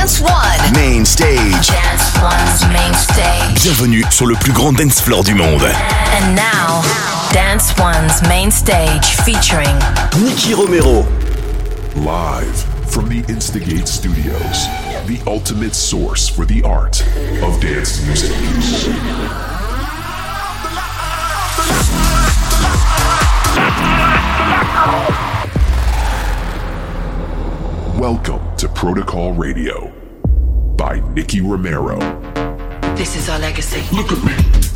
Dance One. Main Stage. Dance One's Main Stage. Bienvenue sur le plus grand dance floor du monde. And now, Dance One's Main Stage featuring Nicky Romero. Live from the Instigate Studios, the ultimate source for the art of dance music. Welcome to Protocol Radio by Nicky Romero. This is our legacy. Look at me.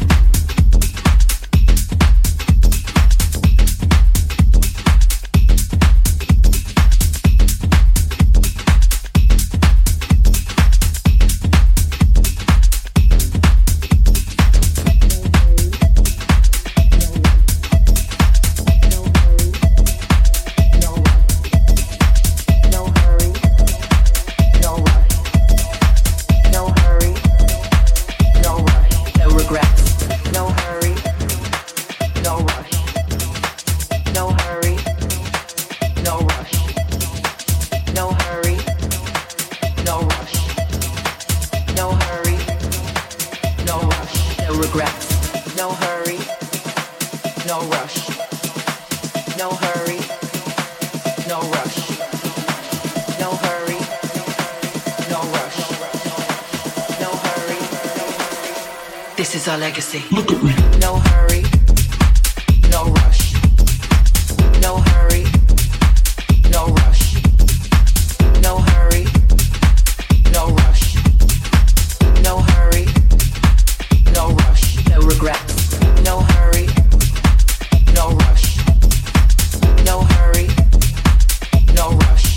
Legacy. Look at me. No hurry, no rush. No hurry, no rush. No hurry, no rush. No hurry, no rush. No regrets. No hurry, no rush. No hurry, no rush.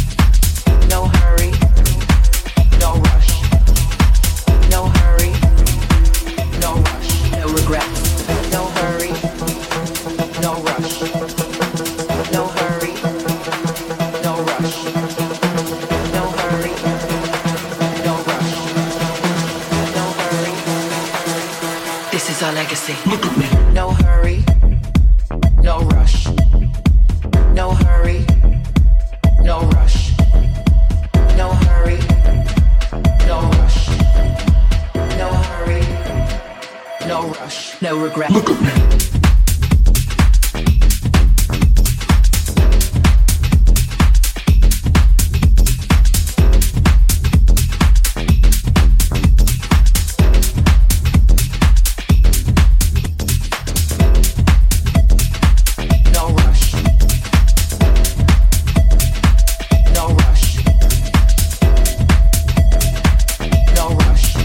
No hurry, no rush. No hurry. No rush, no regrets. No hurry, no rush. No hurry, no rush. No hurry, no rush. No hurry. This is our legacy. Look at me. No hurry, no rush. No hurry, no rush. No hurry, no rush. No hurry. No rush, no regret. Look at me. No rush. No rush. No rush.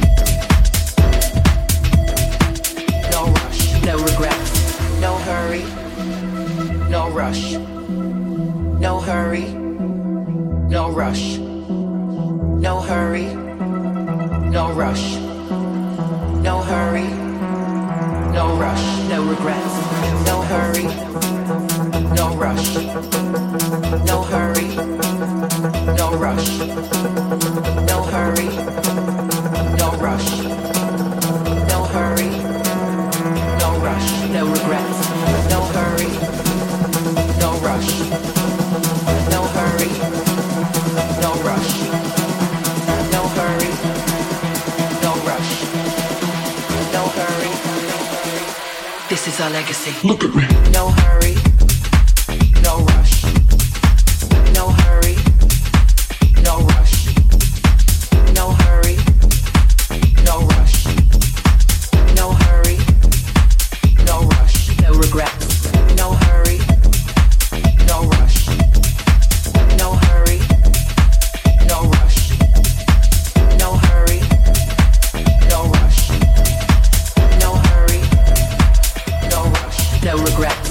No rush, no regrets. No hurry, no rush. No hurry, no rush. No hurry, no rush. No hurry, no rush, no regrets. No hurry, no rush. No hurry, no rush. No hurry, no rush. No hurry. No rush, no regrets. No hurry, no rush. No hurry, no rush. No hurry, no rush. No hurry. This is our legacy. Look at me. No hurry, no rush. No hurry, no rush. No hurry, no rush. No hurry. No rush, no regrets. No hurry, no rush. No hurry, no rush. No hurry, no rush. No hurry, no rush, no regrets.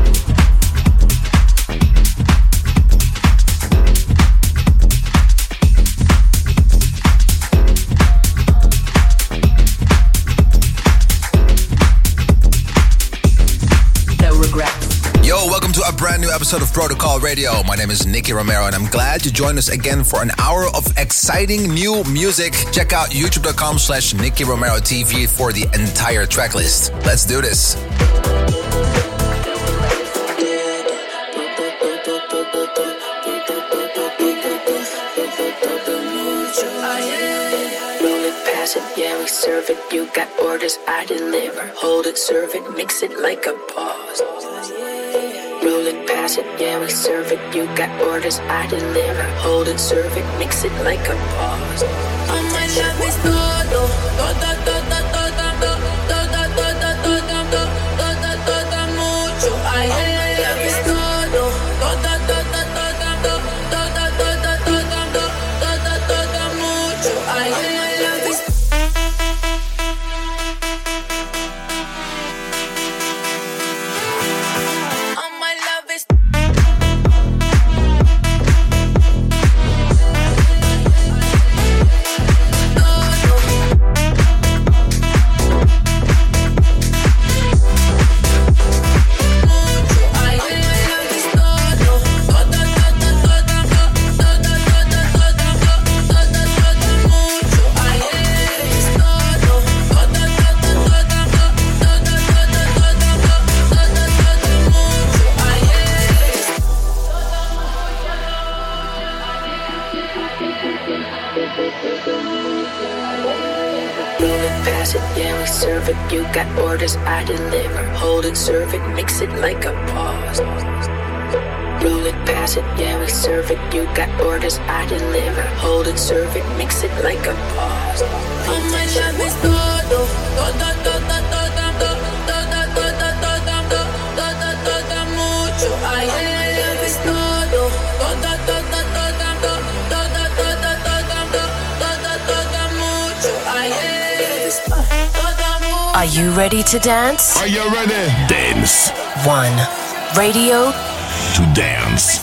A brand new episode of Protocol Radio. My name is Nicky Romero and I'm glad you joined us again for an hour of exciting new music. Check out youtube.com/Nicky Romero TV for the entire track list. Let's do this. Roll it, pass it, yeah, we serve it. You got orders, I deliver. Hold it, serve it, mix it like a boss. Roll it, pass it, yeah, we serve it. You got orders, I deliver. Hold it, serve it, mix it like a boss. Oh, my love is todo, toda, toda, toda, toda, toda, toda, toda, toda, mucho. Ay, my love is todo, toda, toda, toda, toda, toda, toda, toda, toda, mucho. Ay, my love is. Oh, my love is. Serve it, you got orders, I deliver. Hold it, serve it, mix it like a boss. Roll it, pass it, yeah, we serve it. You got orders, I deliver. Hold it, serve it, mix it like a boss. Oh, my love is todo, toda, toda, toda, toda, toda, toda, toda, toda, mucho. Ay, my love is todo, toda, toda, toda, toda, toda, toda, toda, toda, mucho. Ay, are you ready to dance? Are you ready? Dance. One. Radio to dance.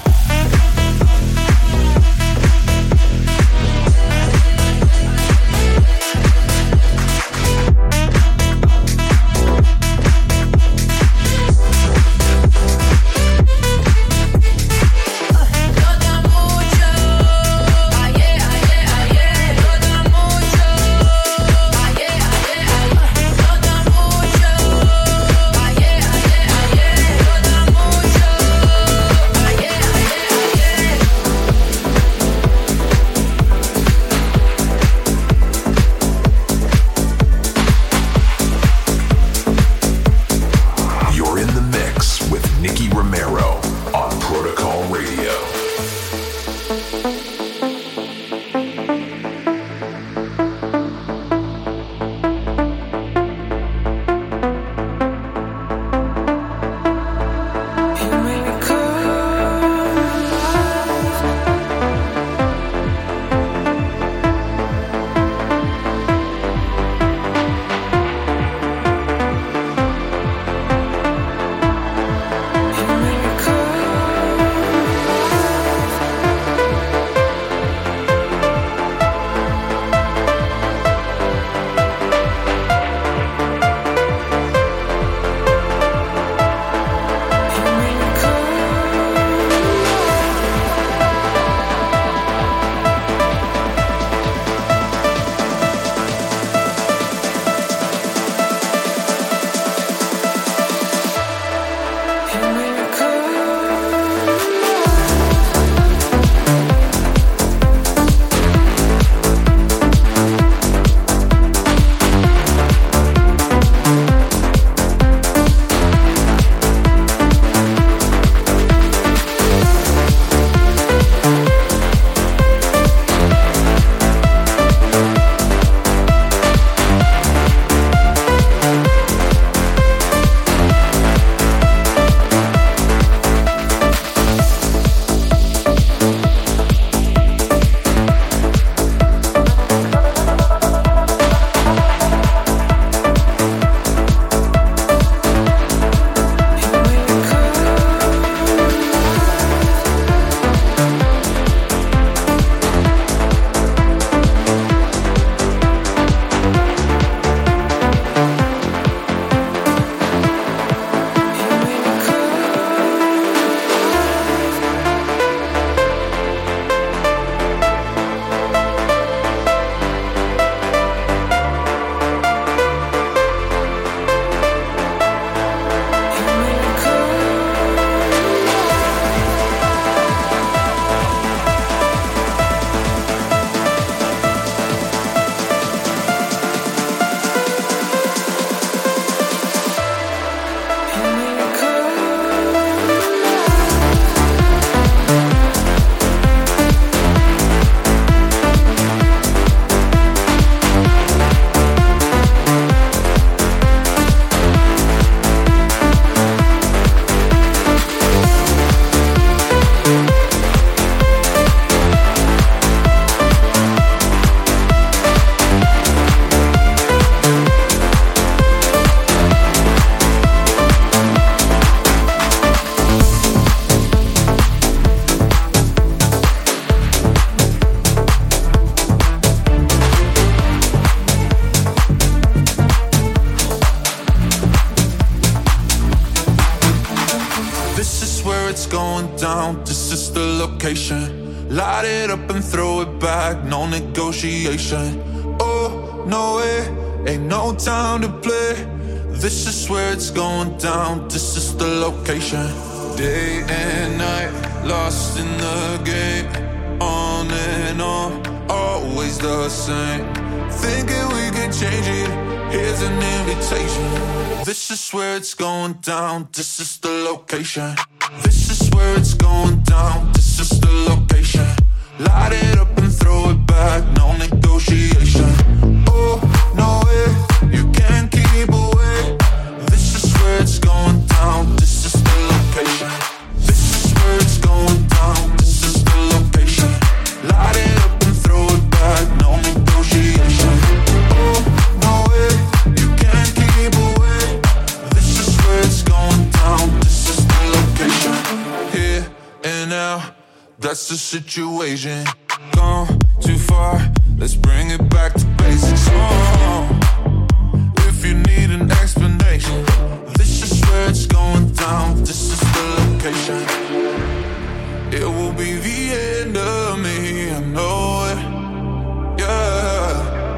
down, this is the location. Light it up and throw it back, no negotiation. Oh, no way, ain't no time to play. This is where it's going down, this is the location. Day and night, lost in the game. On and on, always the same. Thinking we can change it, here's an invitation. This is where it's going down, this is the location. This is where it's going down, this is the location. Light it up and throw it back, no negotiation. Oh, no way, you can't keep away. This is where it's going down, this is the location. This is where it's going down, this is the location. Light it up and throw it back, no negotiation. Oh, no way, you can't keep away. This is where it's going down, this is the location. Here and now, that's the situation. Gone too far, let's bring it back to basics. Oh, if you need an explanation, this is where it's going down, this is the location. It will be the end of me, I know it. Yeah,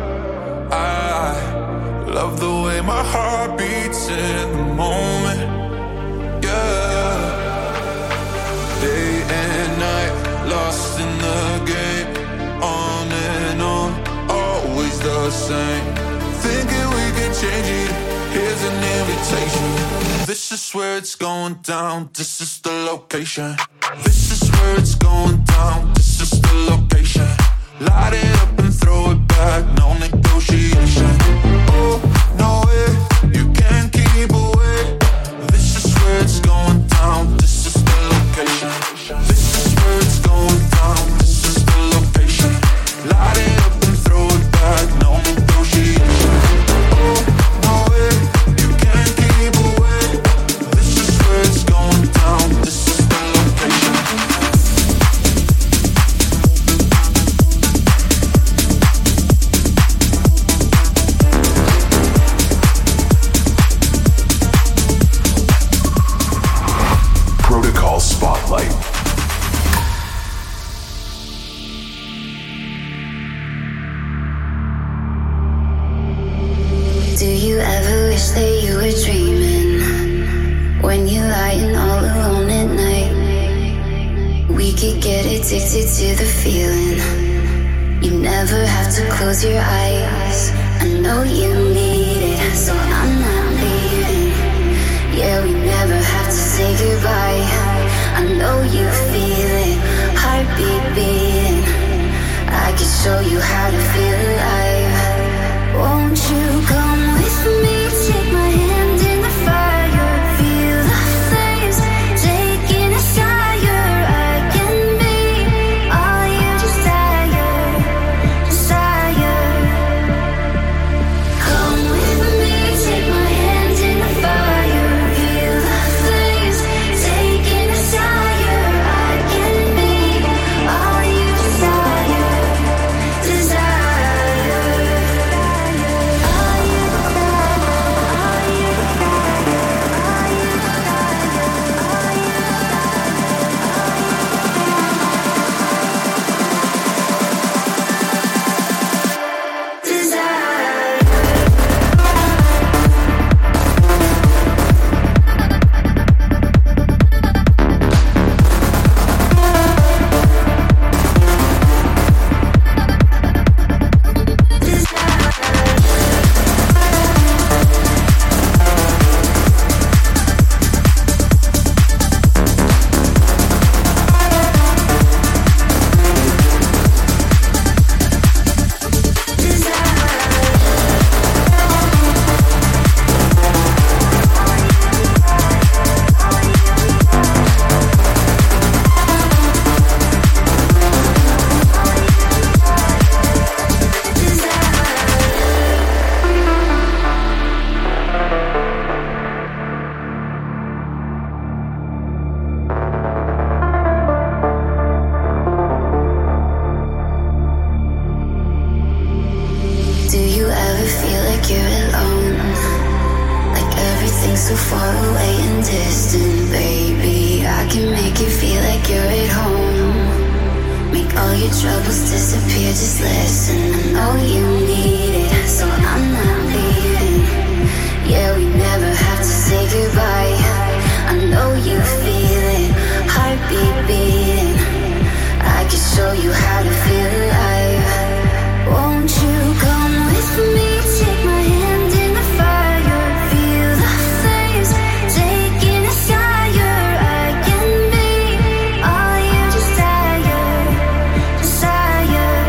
I love the way my heart beats in the moment. Yeah, day and night, lost in the game. On and on, always the same. Thinking we can change it, here's an invitation. This is where it's going down, this is the location. This is where it's going down, this is the location. Light it up and throw it back, no negotiation. Oh, no way, you can't keep away. This is where it's going down, this is the location. This is where it's going down, this is the location. Light it up and throw it back, no negotiation. Oh, no way, you can't keep away. This is where it's going down, this is the location. Protocol Spotlight. Do you ever wish that you were dreaming? When you're lying all alone at night, we could get addicted to the feeling. You never have to close your eyes. I know you need it, so I'm not leaving. Yeah, we never have to say goodbye. I know you feel it, heartbeat beating. I can show you how to feel alive. Won't you come with me? Take my hand in the fire. Feel the flames taking us higher. I can be all you desire, desire. Come with me. Take my hand in the fire. Feel the flames taking us higher. I can be all you desire, desire. so far away and distant, baby. I can make you feel like you're at home. Make all your troubles disappear, just listen. I know you need it, so I'm not leaving. Yeah, we never have to say goodbye. I know you feel it, heartbeat beating. I can show you how to feel alive. Won't you come with me? Take my hand in the fire, feel the flames taking us higher. I can be all you desire, desire.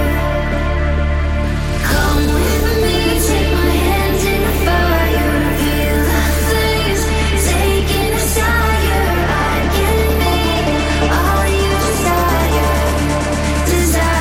Come with me, take my hand in the fire, feel the flames taking us higher. I can be all you desire, desire.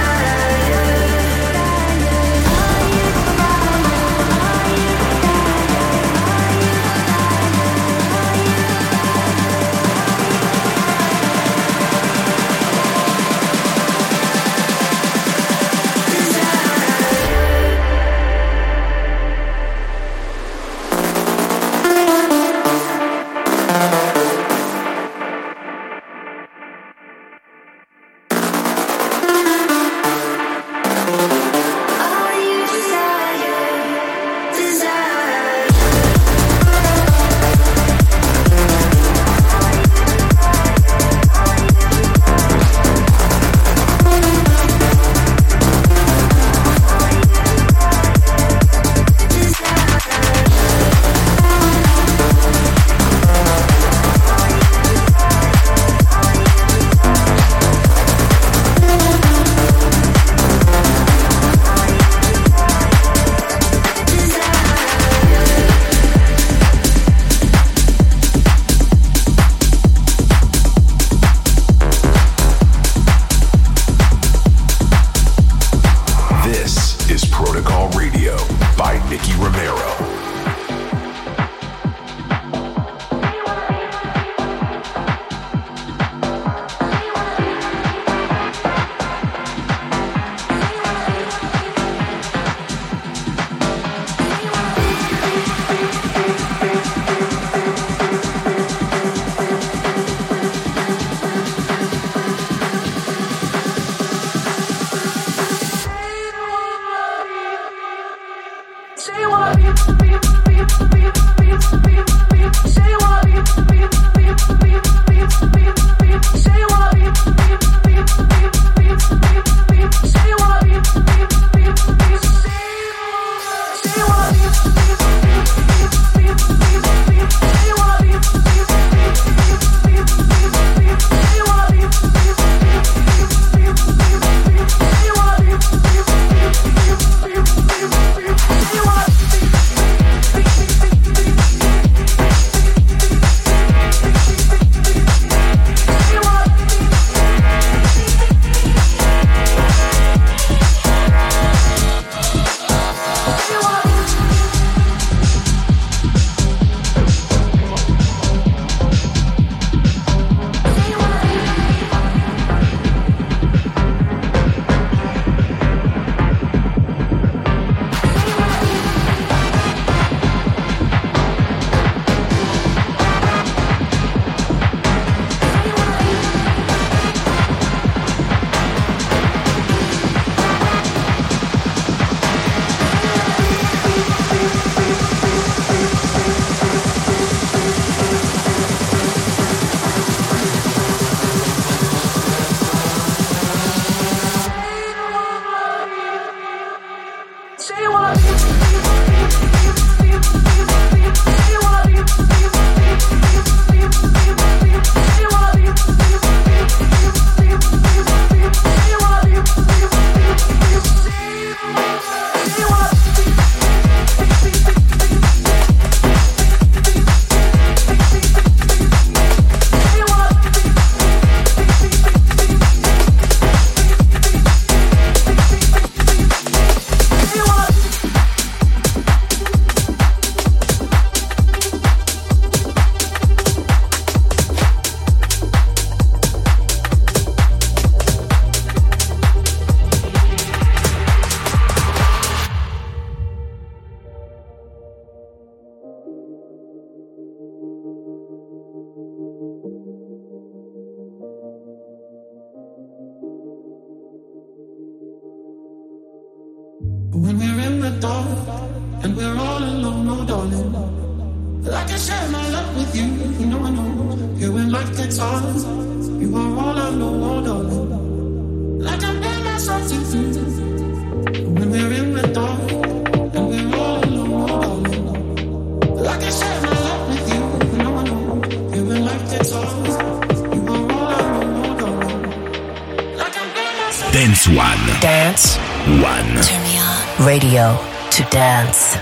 When we're in the dark and we're all alone, oh darling, I can share my love with you. You know I know. Here when life gets hard, you are all I know, oh darling. I can bear myself to you. When we're in the dark and we're all alone, oh darling, I can share my love with you. You know I know. Here when life gets hard, you are all I know, oh darling. I can bear myself. Dance One. Dance One. Turn me on. Radio to dance.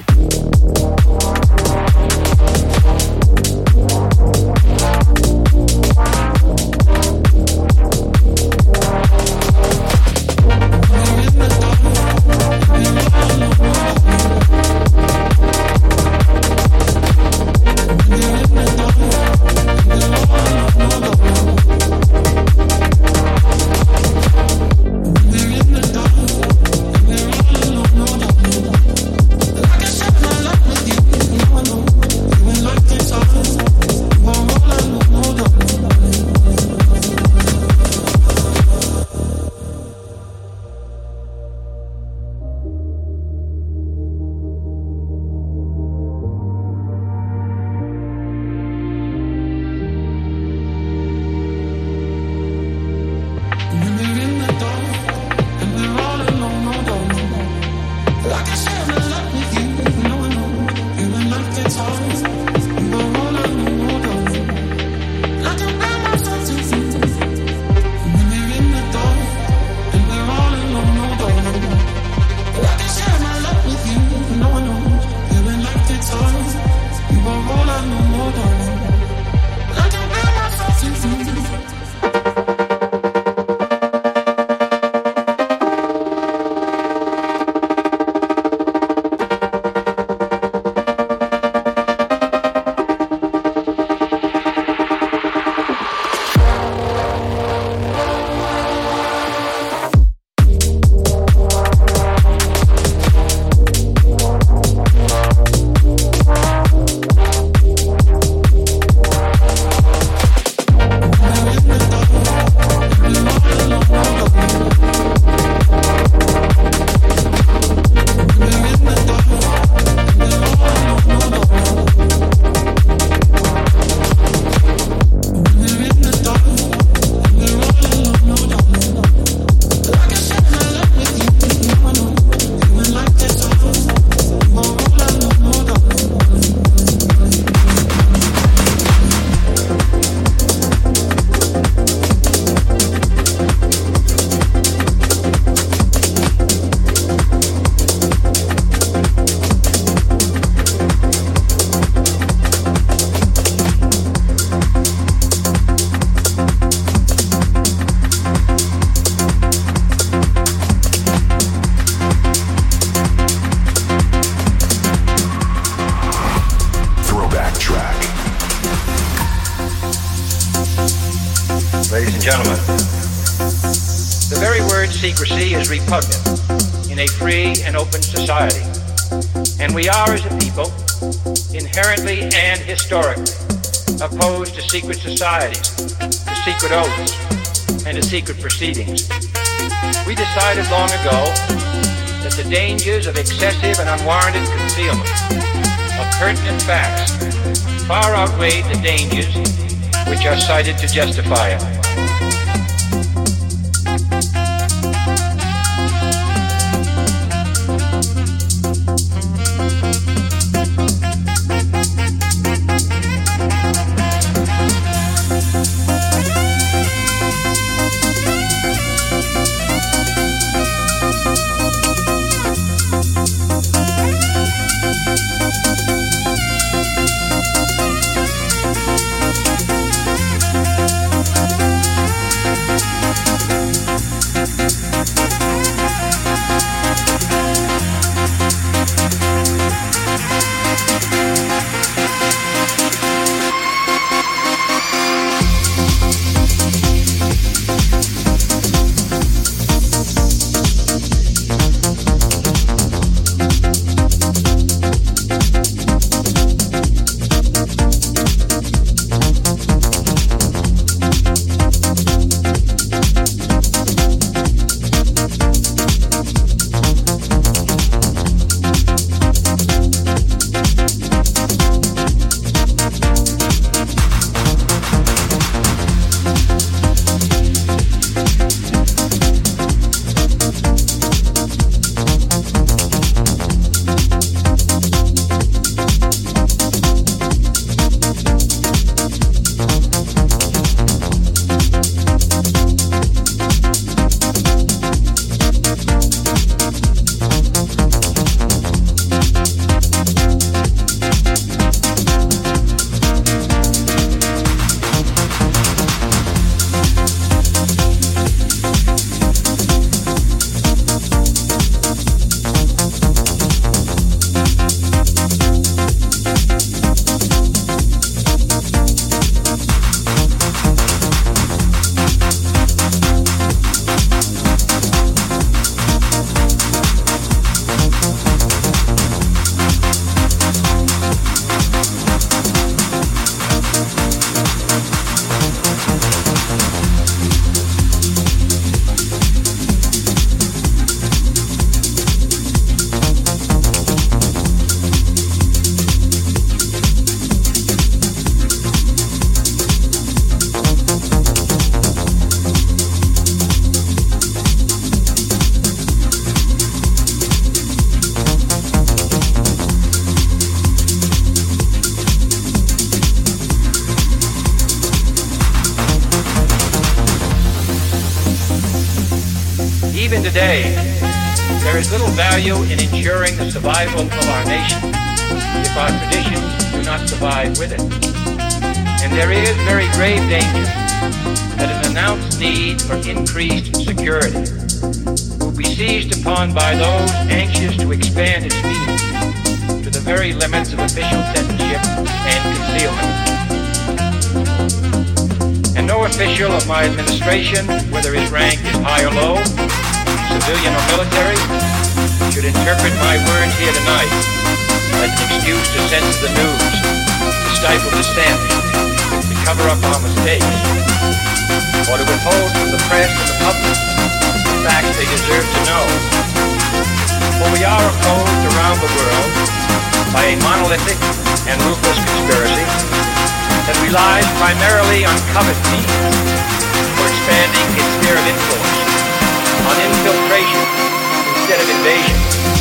Ladies and gentlemen, the very word secrecy is repugnant in a free and open society. And we are, as a people, inherently and historically opposed to secret societies, to secret oaths, and to secret proceedings. We decided long ago that the dangers of excessive and unwarranted concealment of pertinent facts far outweighed the dangers which are cited to justify it. today, there is little value in ensuring the survival of our nation if our traditions do not survive with it. And there is very grave danger that an announced need for increased security will be seized upon by those anxious to expand its meaning to the very limits of official censorship and concealment. And no official of my administration, whether his rank is high or low, civilian or military, should interpret my words here tonight as an excuse to censor the news, to stifle dissent, to cover up our mistakes, or to withhold from the press and the public the facts they deserve to know. For we are opposed around the world by a monolithic and ruthless conspiracy that relies primarily on covert means for expanding its sphere of influence, on infiltration instead of invasion.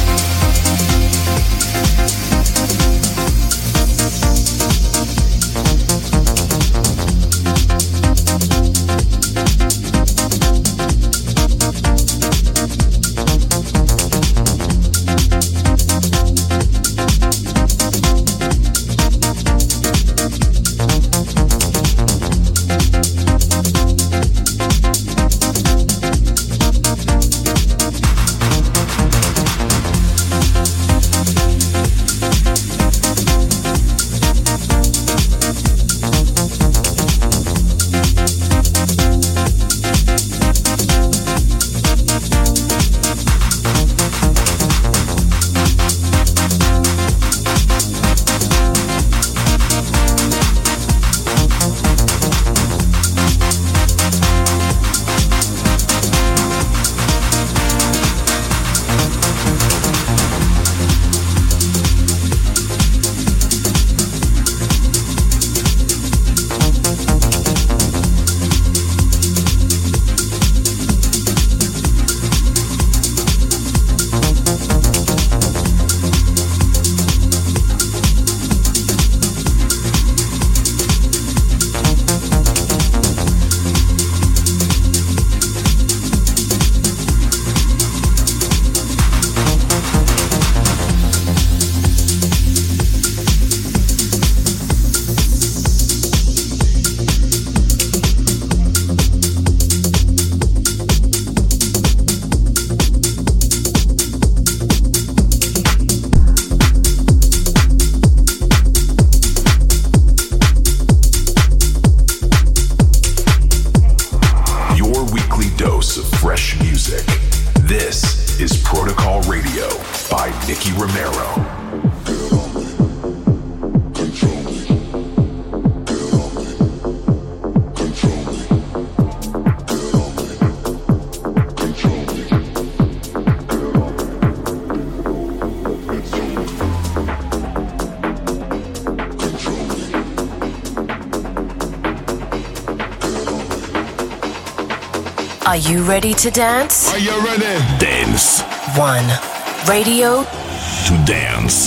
Are you ready to dance? Are you ready? Dance. One. Radio. To dance.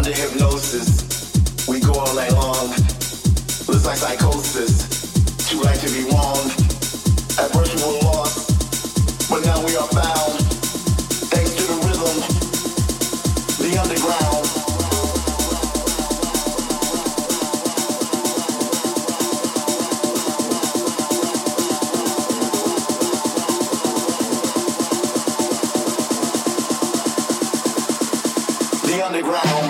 under hypnosis. We go all night long. Looks like psychosis. Too right to be wrong. At first we were lost, but now we are found. Thanks to the rhythm, the underground. The underground.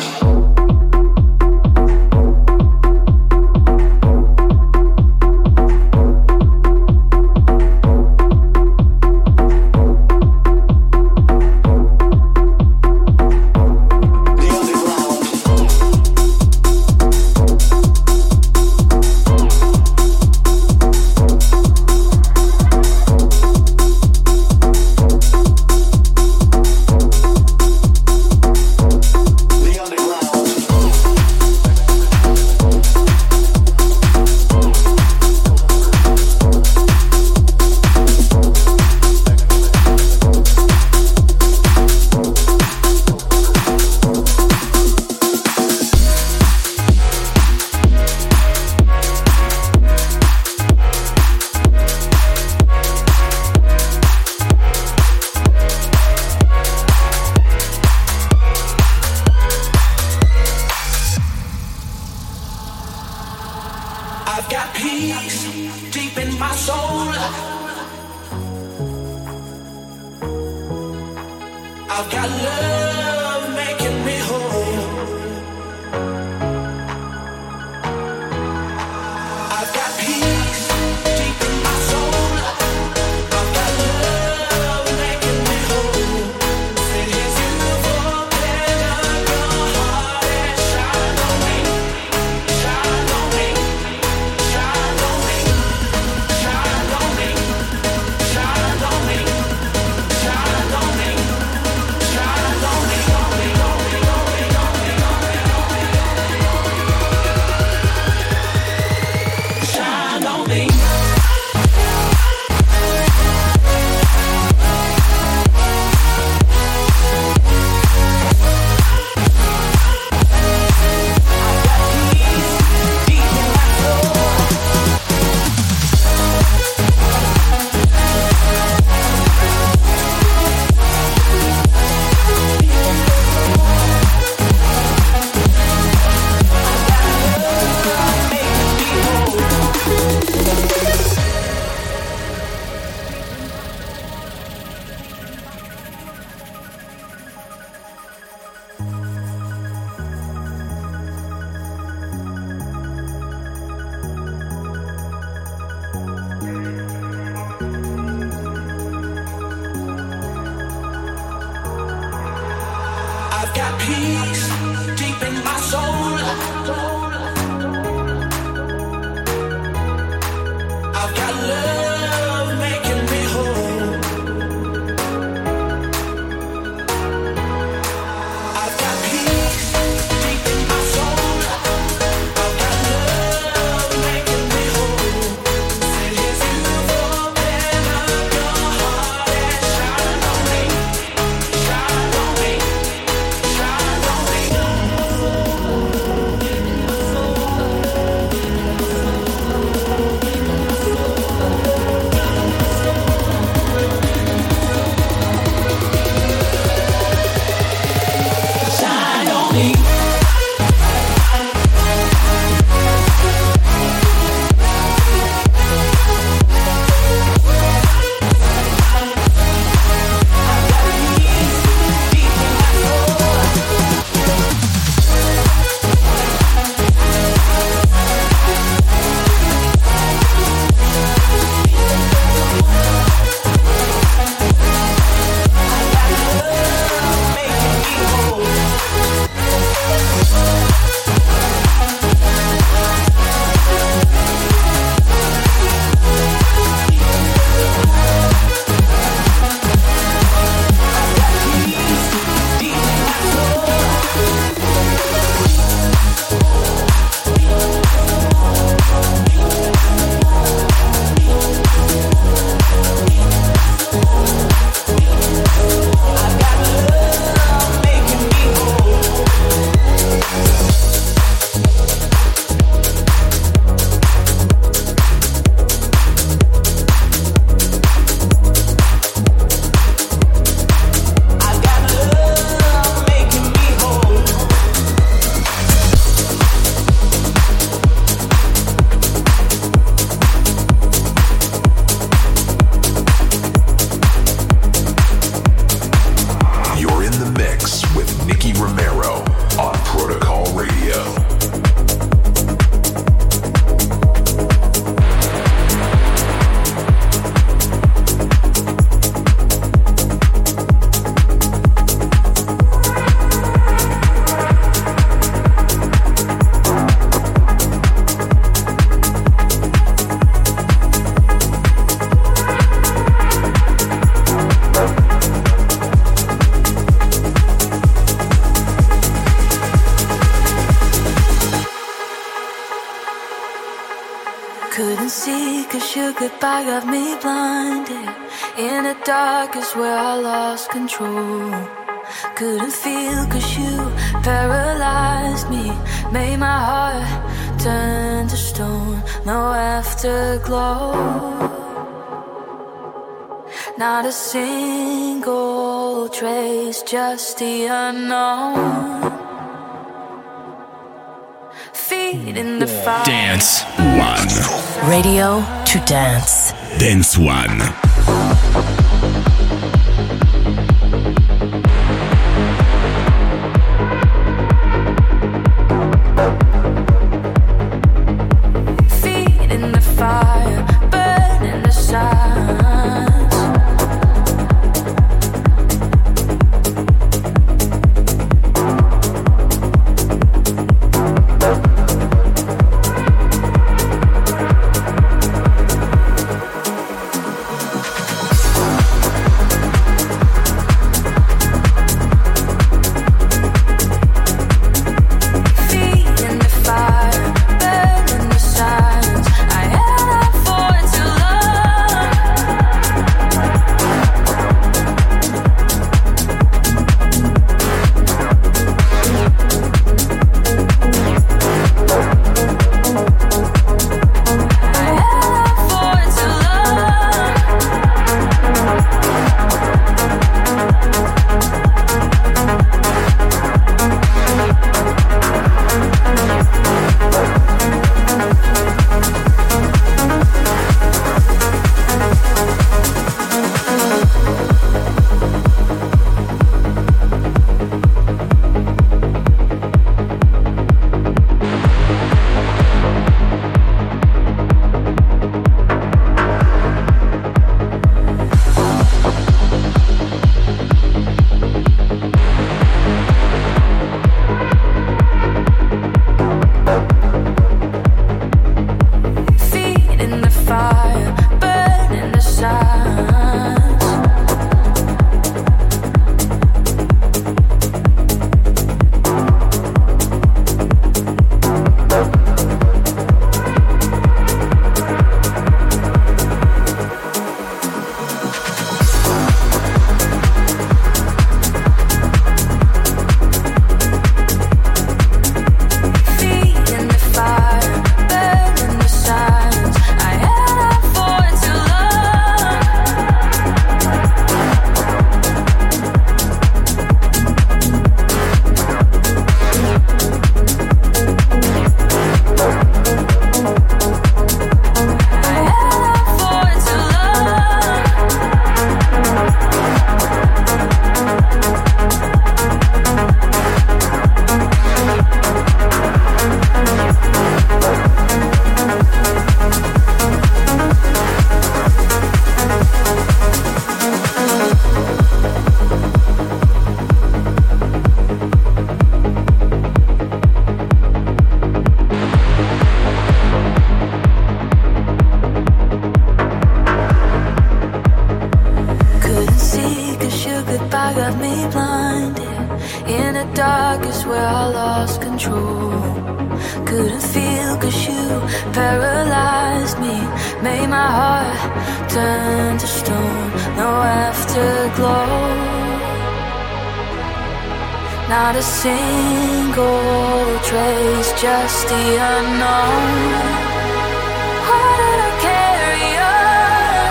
I've got peace deep in my soul. I've got love making me whole. I've got peace deep in my soul. I've got love making me whole. If you've opened up your heart and shine on me, shine on me, shine on me, shine on me, shine on me, shine on me, shine on me, shine on me. I've got peace deep in my soul. I've got love making me whole. I've got peace deep in my soul. I've got love making me whole. If you've opened up your heart and shine on me, shine on me. Shine on me. your goodbye got me blinded. In the dark is where I lost control. Couldn't feel 'cause you paralyzed me. Made my heart turn to stone. No afterglow. Not a single trace, just the unknown. Feet in the fire. Dance One. Radio to dance. Dance One. Feet in the fire, burning the silence. Not a single trace, just the unknown. Why did I carry on?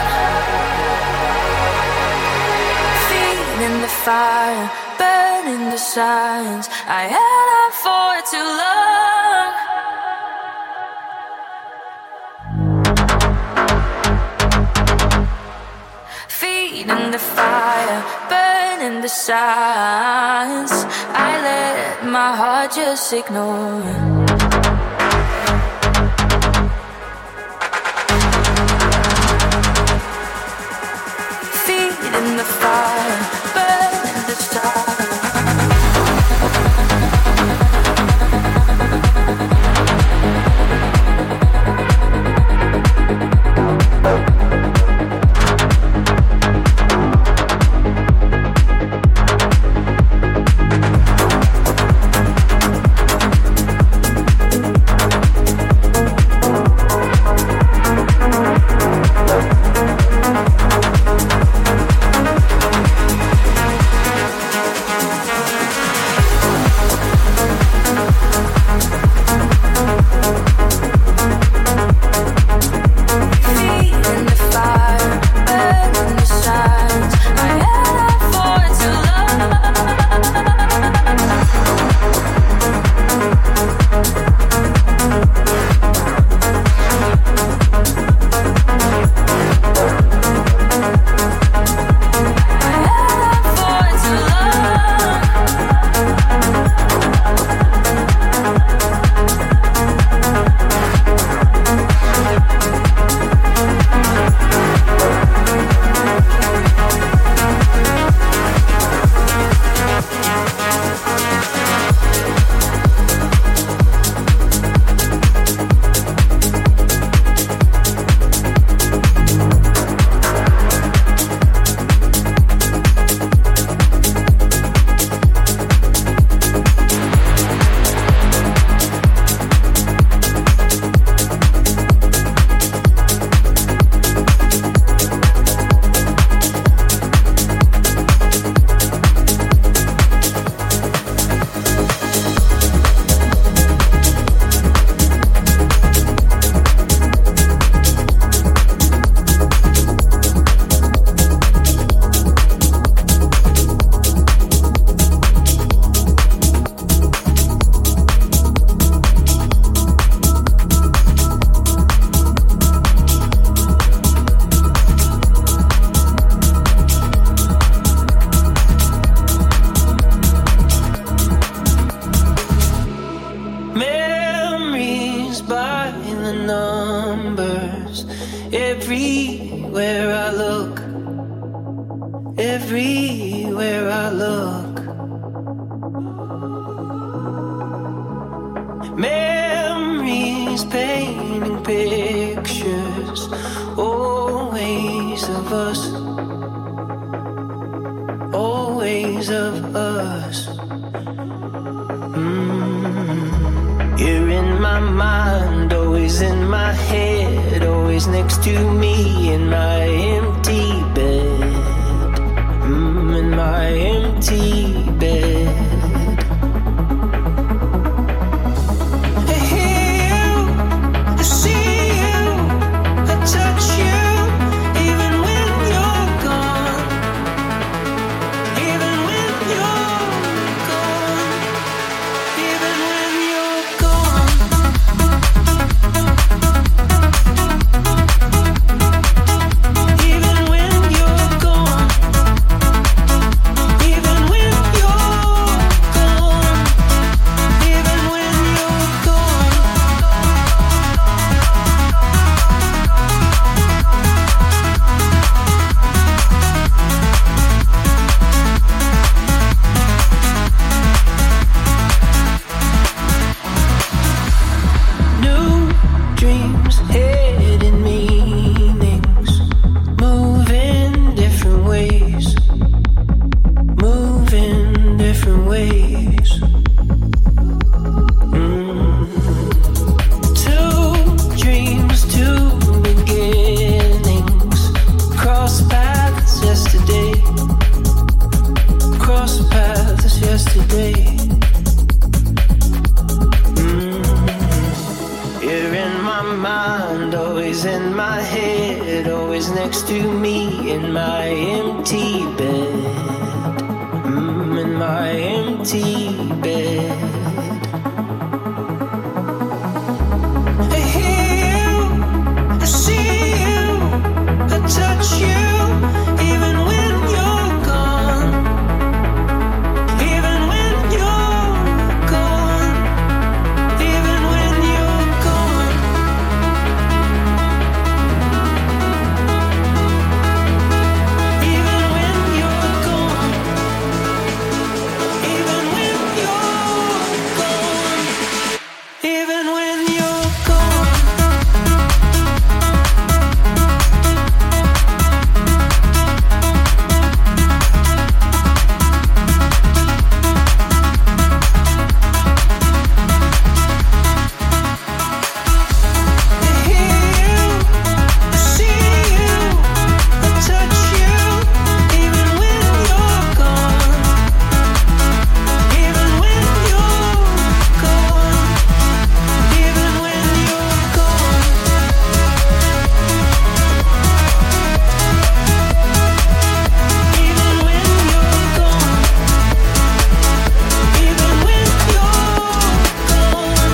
Feet in the fire, burning the signs. I held on for too long. Feet in the fire, burning the signs. I let my heart just ignore. Feet in the fire, burning the stars. everywhere I look. Memories painting pictures, always of us, always of us. You're in my mind, always in my head, always next to me in my empty bed, in my empty bed. I hear you, I see you, I touch you, even when you're gone, even when you're gone, even when you're gone. Even when you're gone, even when you're gone, even when you're gone. New dreams, hidden meanings, move in different ways, move in different ways. Two dreams, two beginnings, cross paths yesterday, cross paths yesterday. You're in my mind, always in my head, always next to me in my empty bed, in my empty bed. I hear you, I see you, I touch you, even when you're gone, even when you're gone, even when you're gone. Even when you're gone, even when you're gone, even when you're gone. I hear you, I see you, I touch you, even when you're gone, even when you're gone, even when you're gone. Even when you're gone, even when you're gone.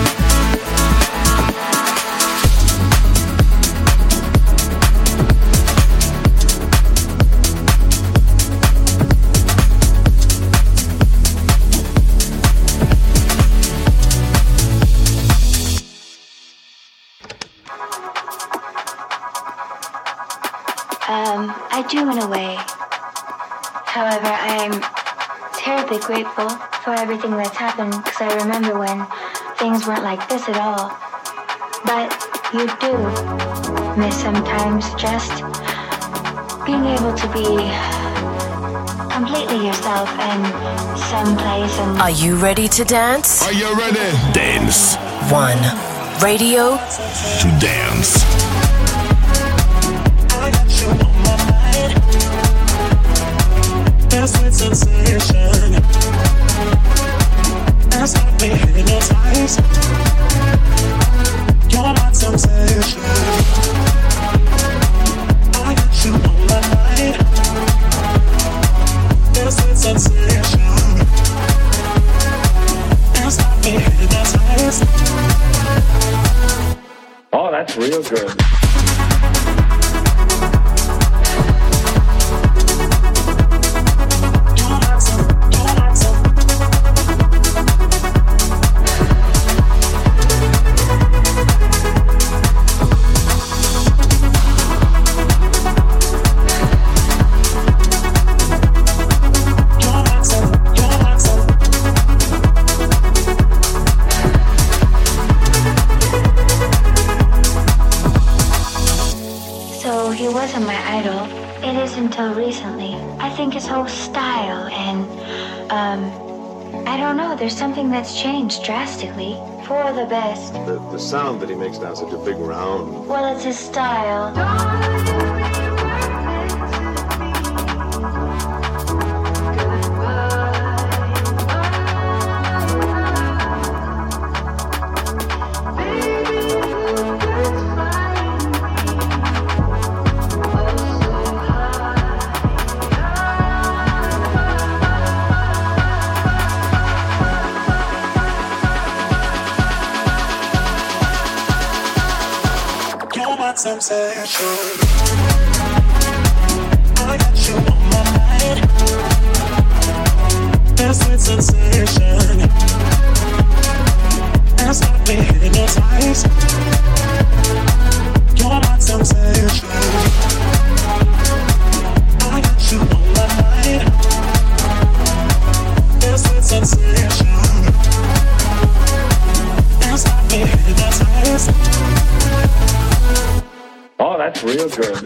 I do in a way. However, I am terribly grateful for everything that's happened because I remember when things weren't like this at all. But you do miss sometimes just being able to be completely yourself and someplace and... Are you ready to dance? Are you ready? Dance. One. Radio To dance. I got you on my mind. There's sweet sensation. That's got me hypnotized. You're my sensation. I got you on my mind. There's sweet sensation. That's got me hypnotized. Oh, that's real good. style, and I don't know, there's something that's changed drastically for the best. The sound that he makes now is such a big round. Well, it's his style. Sensation. I got you on my mind. That sweet sensation has got me hypnotized. You're my sensation. I got you on my mind. That sweet sensation has got me hypnotized. Oh, that's real good.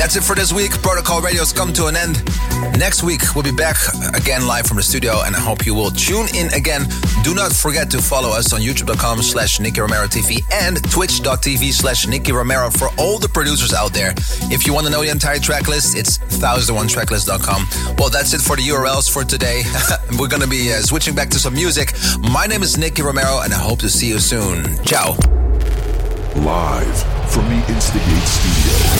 That's it for this week. Protocol Radio's come to an end. Next week, we'll be back again live from the studio, and I hope you will tune in again. Do not forget to follow us on youtube.com/Nicky Romero TV and twitch.tv/Nicky Romero for all the producers out there. If you want to know the entire track list, it's 1001tracklist.com. Well, that's it for the URLs for today. We're going to be switching back to some music. My name is Nicky Romero, and I hope to see you soon. Ciao. Live from the Instigate Studio.